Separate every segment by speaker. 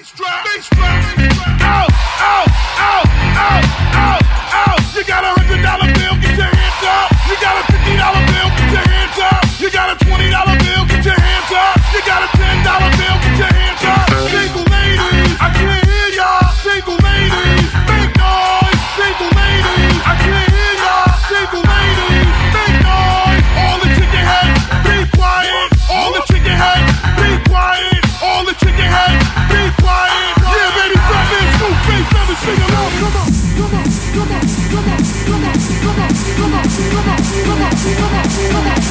Speaker 1: You got $100 bill, get your hands up. You got a $50 bill, get your hands up. You got a $20 bill, get your hands up. You got a $10 bill, get your hands up. Single ladies, I can't hear y'all. Single ladies, make noise. Single ladies, I can't hear y'all. Single ladies, make noise. All the chicken heads, be quiet. All the chicken heads, be quiet. All the chicken heads, be quiet. Yeah, baby, fat man, scoop, face, never sing along. Come on, come on, come on, come on, come on, come on, come on, come on, come on, come on, come on, come on,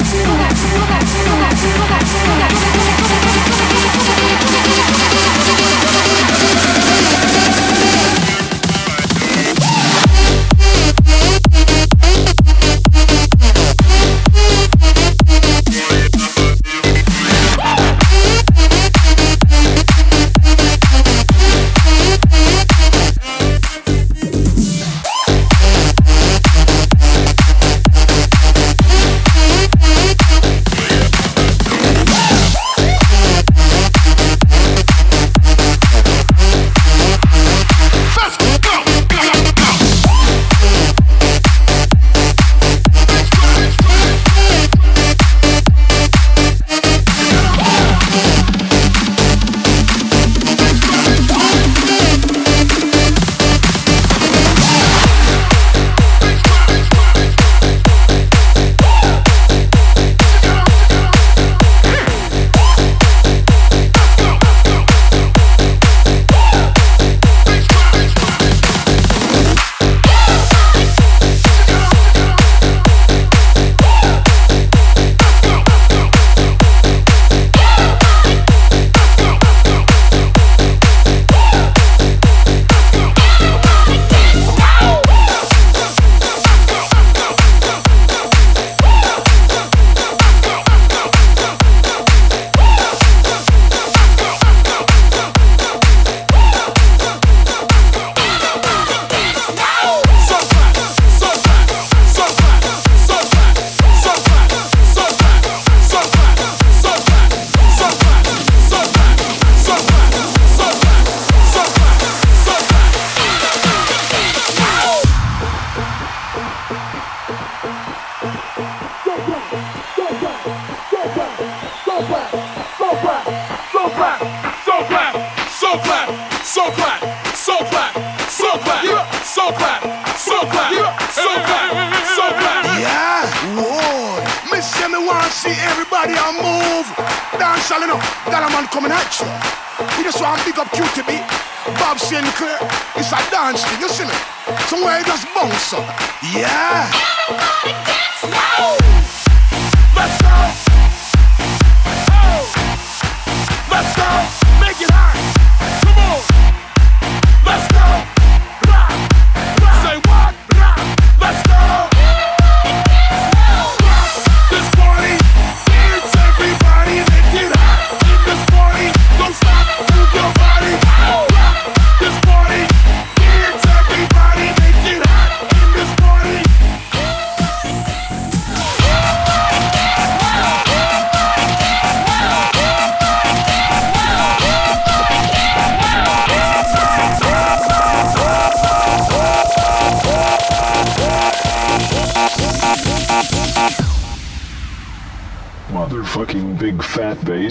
Speaker 2: Motherfucking big fat bass.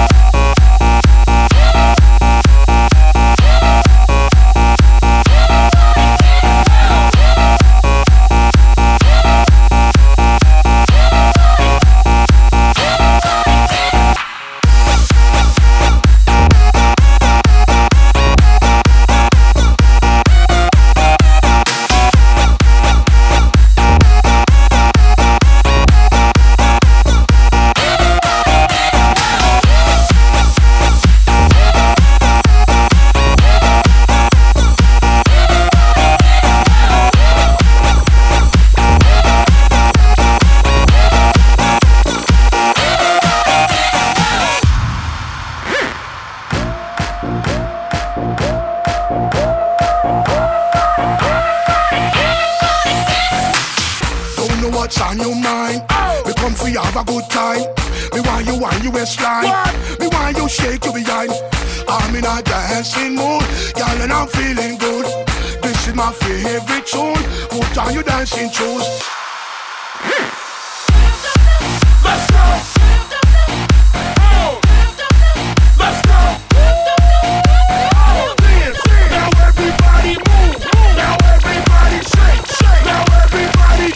Speaker 3: what's on your mind. We come for you have a good time. Me want you waistline. Me want you shake your behind. I'm in a dancing mood, girl, and I'm feeling good. This is my favorite tune. Put on your dancing shoes.
Speaker 1: Let's go. Oh. Let's go. Oh, dance. Now everybody move. Now everybody shake, shake. Now everybody.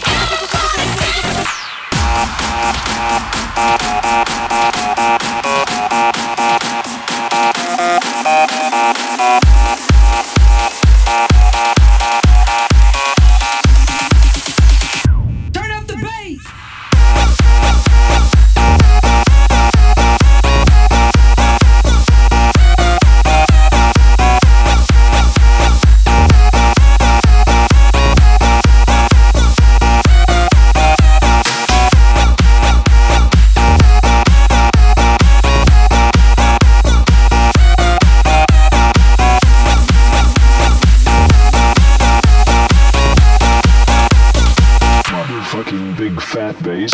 Speaker 4: Turn up the bass.
Speaker 2: Motherfucking big fat bass.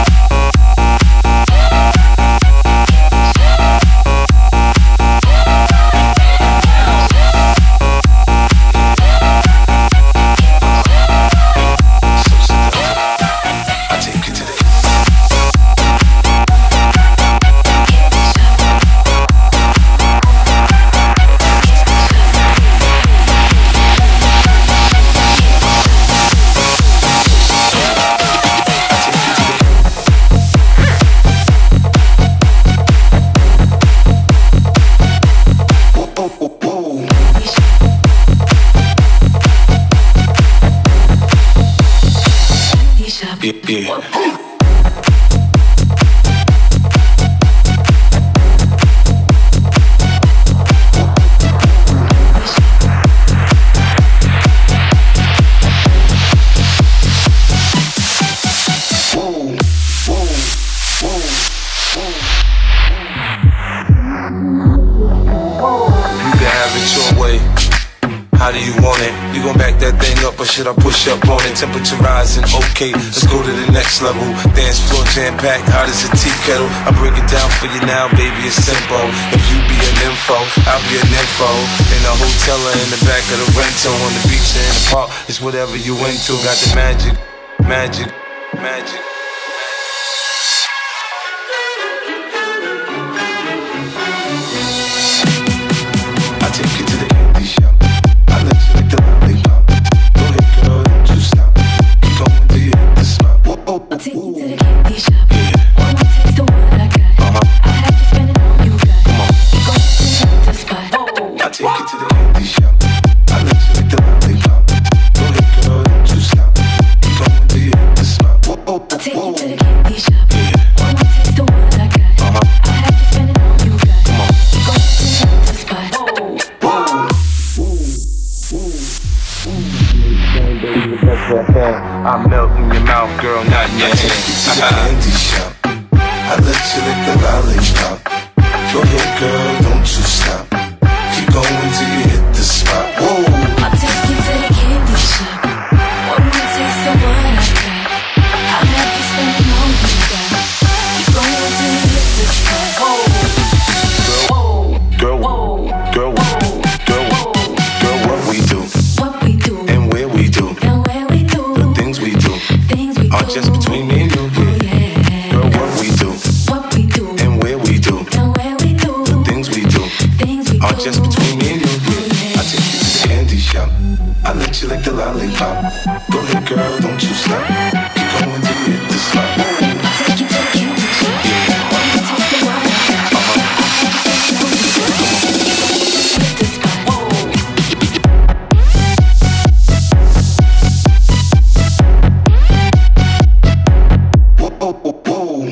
Speaker 5: Yeah. How do you want it? You gon' back that thing up or should I push up on it? Temperature rising, okay, let's go to the next level. Dance floor jam-packed, hot as a tea kettle. I break it down for you now, baby, it's simple. If you be an info, I'll be an info. In a hotel or in the back of the rental, on the beach or in the park, it's whatever you into. Got the magic, magic, magic. I take you to the candy shop. I let you lick the lollipop. Go ahead, girl, don't you stop. Keep going till you hit the spot.
Speaker 6: I'll take you to the candy shop. One more taste of what I got. I'll have you spending all you got.
Speaker 5: Come on.
Speaker 6: Go to the spot.
Speaker 5: I take you to the candy shop. I let you lick the lollipop. Go ahead, girl, don't you stop. Keep going till you hit the spot.
Speaker 6: I'll take you to the candy shop. One more taste of what I got. I'll have you spending all you got.
Speaker 5: Come on.
Speaker 6: Go to the spot.
Speaker 5: I melt in your mouth, girl, not in your hand. To the candy shop. I let you lick the lollipop. Go ahead, girl, don't you stop. Keep going till you hit the spot. Whoa.
Speaker 6: I'll take you to the candy shop. One more taste of what I got. I'll have you spending all you got. Keep going till you hit the spot.
Speaker 5: Girl, girl, what we do,
Speaker 6: What we do,
Speaker 5: and where we do,
Speaker 6: and where we do,
Speaker 5: the things we do,
Speaker 6: things we
Speaker 5: are
Speaker 6: do.
Speaker 5: just between me and you.
Speaker 6: Yeah.
Speaker 5: Girl, what we do,
Speaker 6: What we do,
Speaker 5: and where we do,
Speaker 6: and where we do,
Speaker 5: the things we do,
Speaker 6: things we
Speaker 5: are
Speaker 6: do.
Speaker 5: just between me and you. I take you to the candy shop. I let you lick the lollipop. Go ahead, girl, don't you stop. Keep going till you hit the spot.
Speaker 6: Take you to the candy shop. One more taste of what I got. Hit the spot.
Speaker 5: Whoa.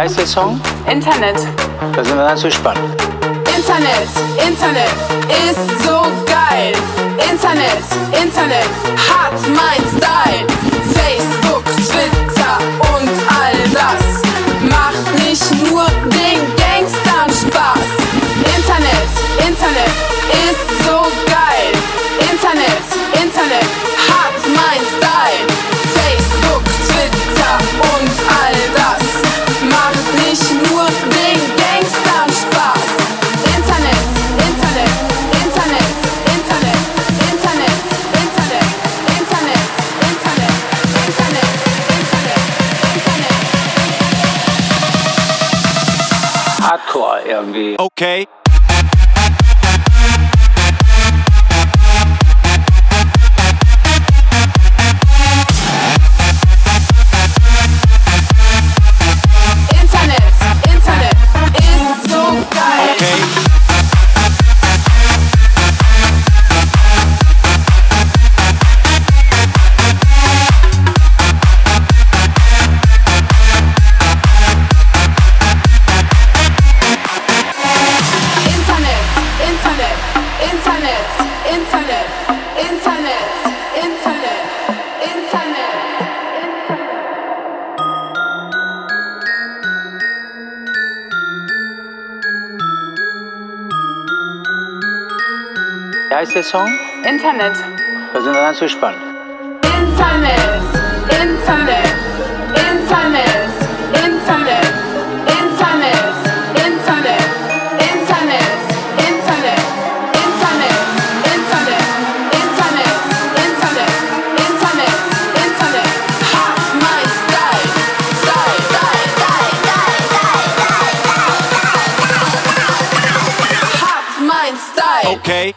Speaker 7: heißt der Song?
Speaker 4: Internet.
Speaker 7: Da sind wir ganz gespannt.
Speaker 4: Internet, Internet ist so geil. Internet, Internet hat mein Style. Facebook, Twitter und all das macht nicht nur den Gangstern Spaß. Internet, Internet ist so geil. Internet, Internet hat mein Style. Facebook, Twitter und all das macht nicht nur den Gangstern Spaß. Internet, Internet, Internet, Internet, Internet, Internet, Internet, Internet, Internet, Internet, Internet.
Speaker 7: Hardcore irgendwie.
Speaker 8: Okay.
Speaker 4: Internet, Internet ist so geil.
Speaker 8: Okay.
Speaker 4: Internet, Internet, Internet, Internet, Internet, Internet, Internet.
Speaker 7: Wie heißt der Song?
Speaker 4: Internet,
Speaker 7: Da sind wir ganz gespannt.
Speaker 4: Internet, Internet, Internet, Internet, Internet, Internet, Internet, Internet, Internet, Internet, Internet, Internet, Internet, Internet, hat mein Style, Style, Style, Style, Style, Style, hat mein Style.
Speaker 8: Okay.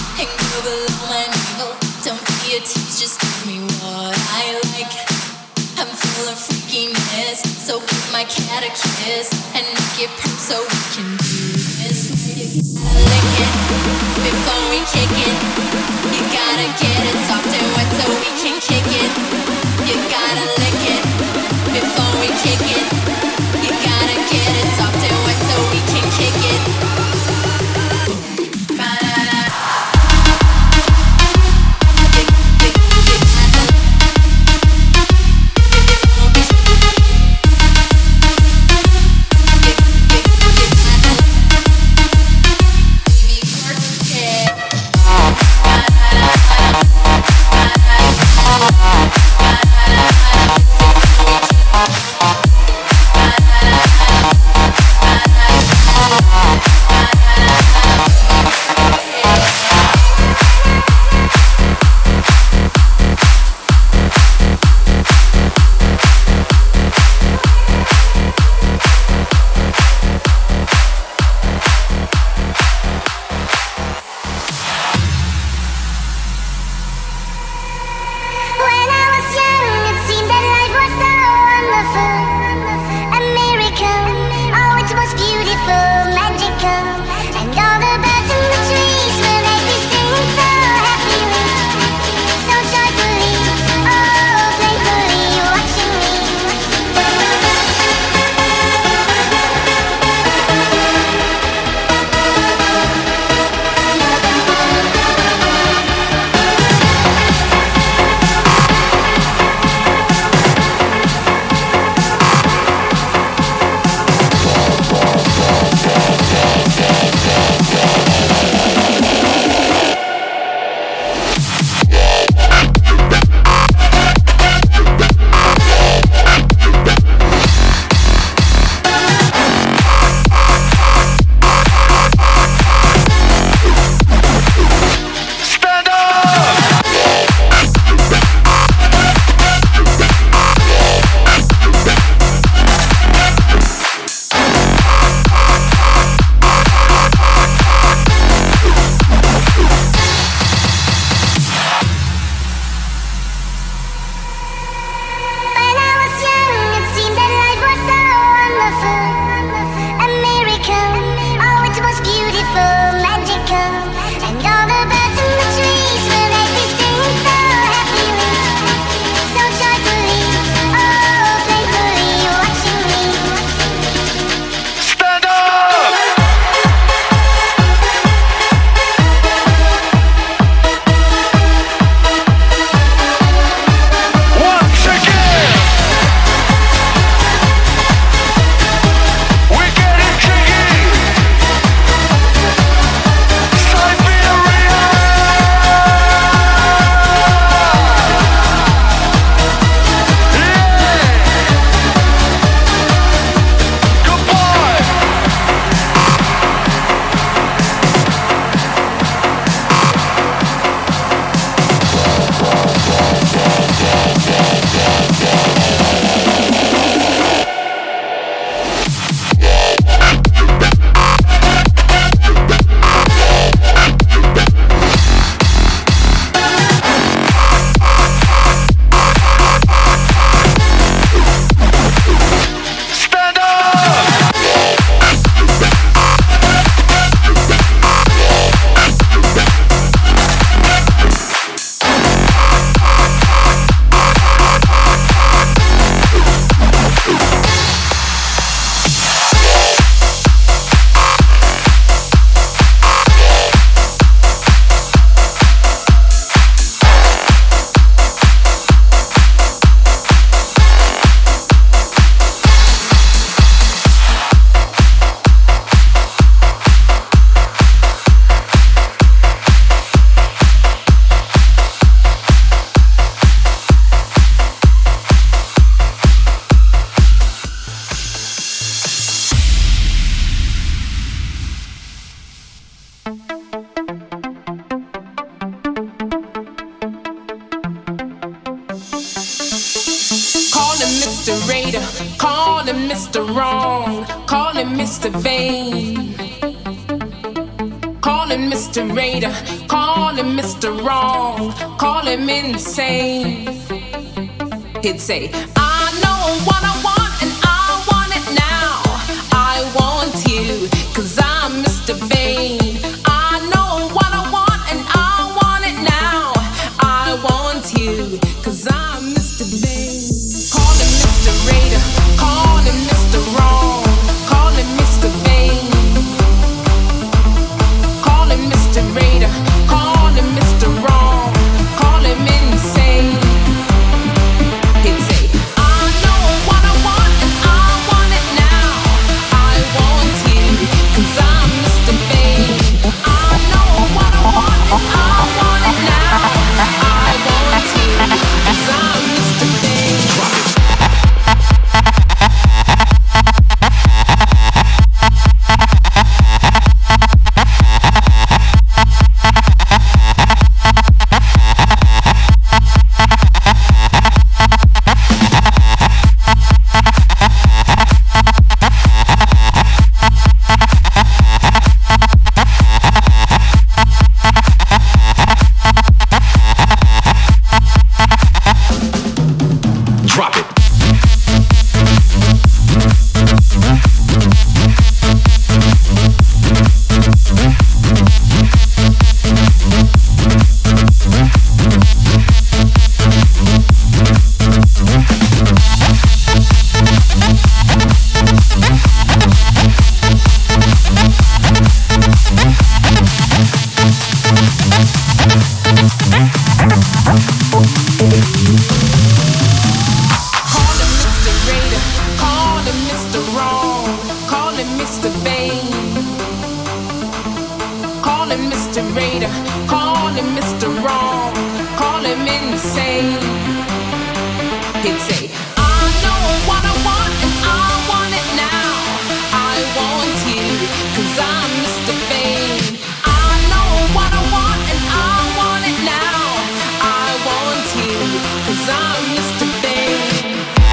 Speaker 6: your teeth, just give me what I like. I'm full of freakiness, so give my cat a kiss and make it purr so we can do this. You gotta lick it before we kick it. You gotta get it soft and wet so we can kick it. You gotta lick it before we kick it. You gotta get it soft and wet so we can kick it.
Speaker 8: Mr. Raider, call him Mr. Wrong, call him Mr. Vain. Call him Mr. Raider, call him Mr. Wrong, call him insane. He'd say, him Mr. Raider, call him Mr. Wrong, call him insane. He'd say, I know what I want and I want it now. I want you, 'cause I'm Mr. Fame. I know what I want and I want it now. I want you, 'cause I'm Mr. Fame.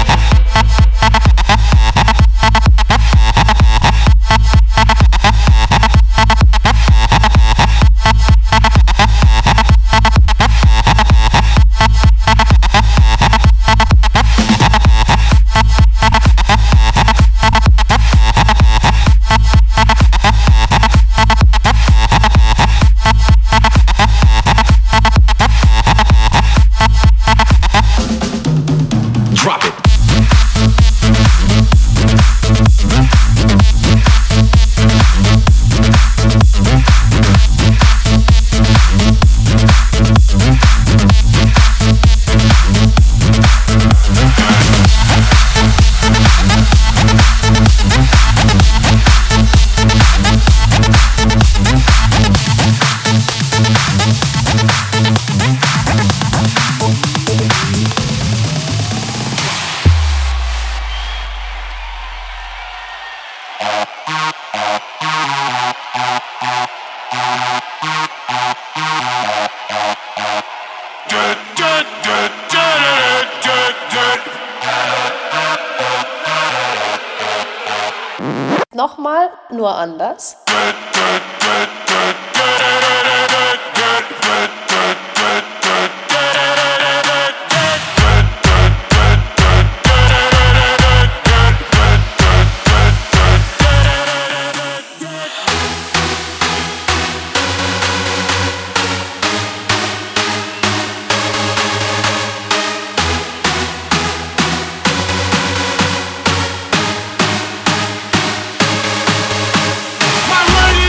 Speaker 9: Nochmal, nur anders.
Speaker 1: My lady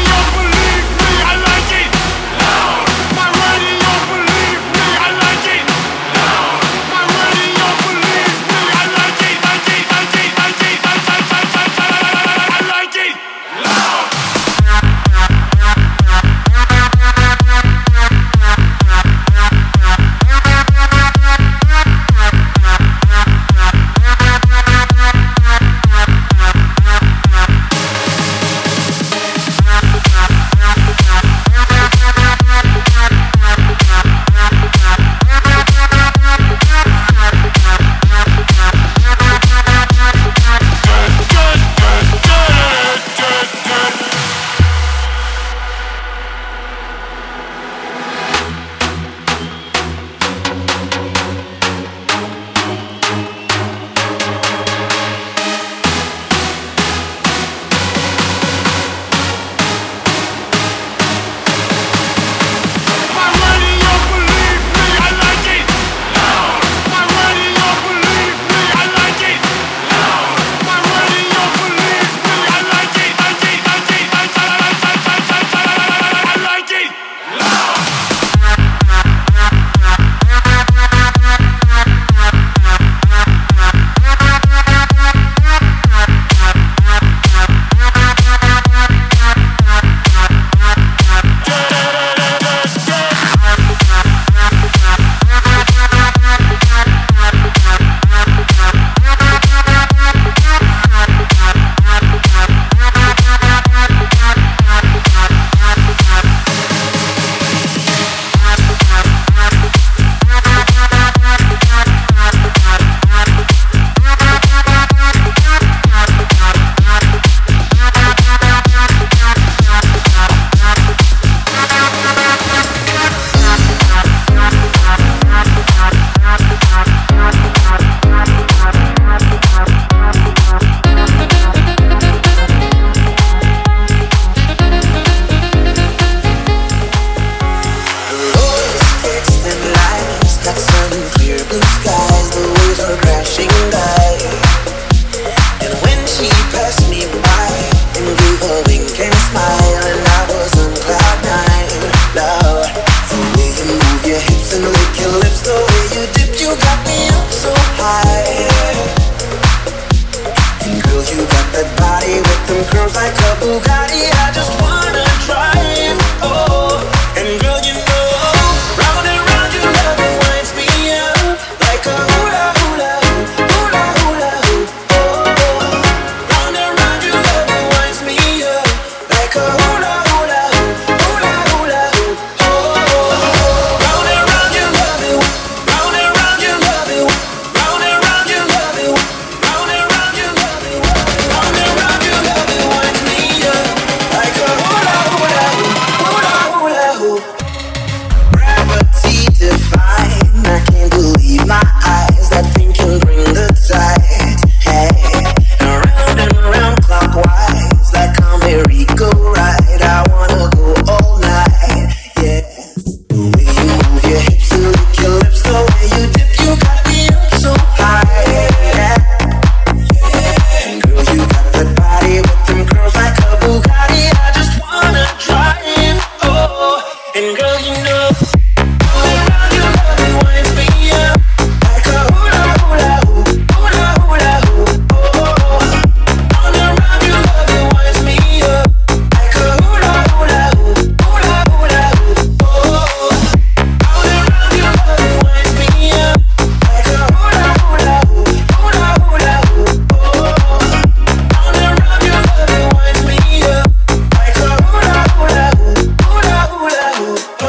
Speaker 10: And girl, you know, all around your love it winds me up like a hula hula hoop, hula hula hoop. Oh, all around your love it winds me up like a hula hula hoop, hula hula hoop. Oh, all around your love it winds me up like a hula hula hoop, hula hula hoop. Oh, all around your love it winds me up like a hula hula hoop, hula hula hoop.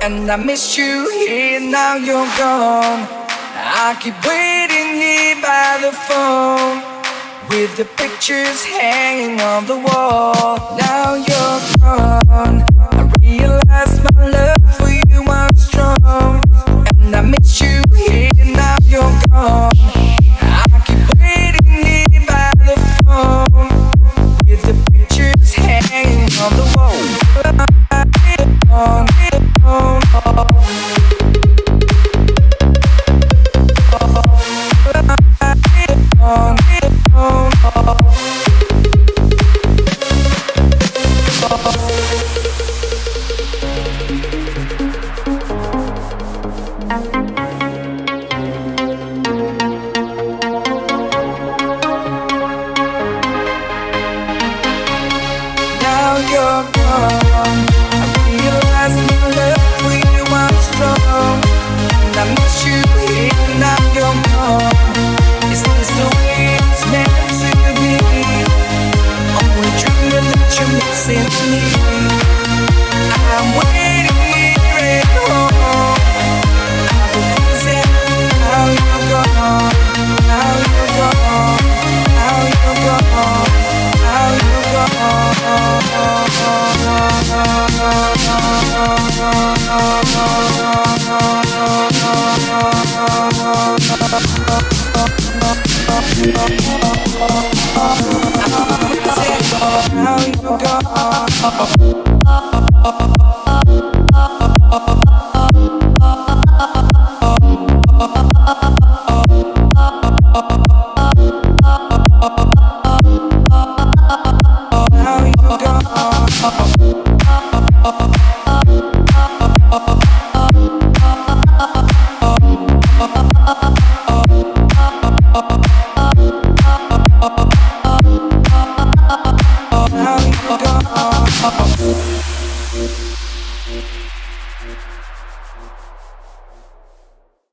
Speaker 10: And I missed you here, now you're gone. I keep waiting here by the phone, with the pictures hanging on the wall. Now you're gone. I realize my love for you was strong. And I miss you here, now you're gone. I keep waiting here by the phone, with the pictures hanging on the wall. Now you're gone. I realize my love for you was strong. And I miss you here, now you're gone. Is this the way it's meant to be? Only dreaming that you're missing me. I'm waiting here at home. I've been losing. Now you're gone. Now you're gone. Now you're gone. Now you're gone. Now you're gone.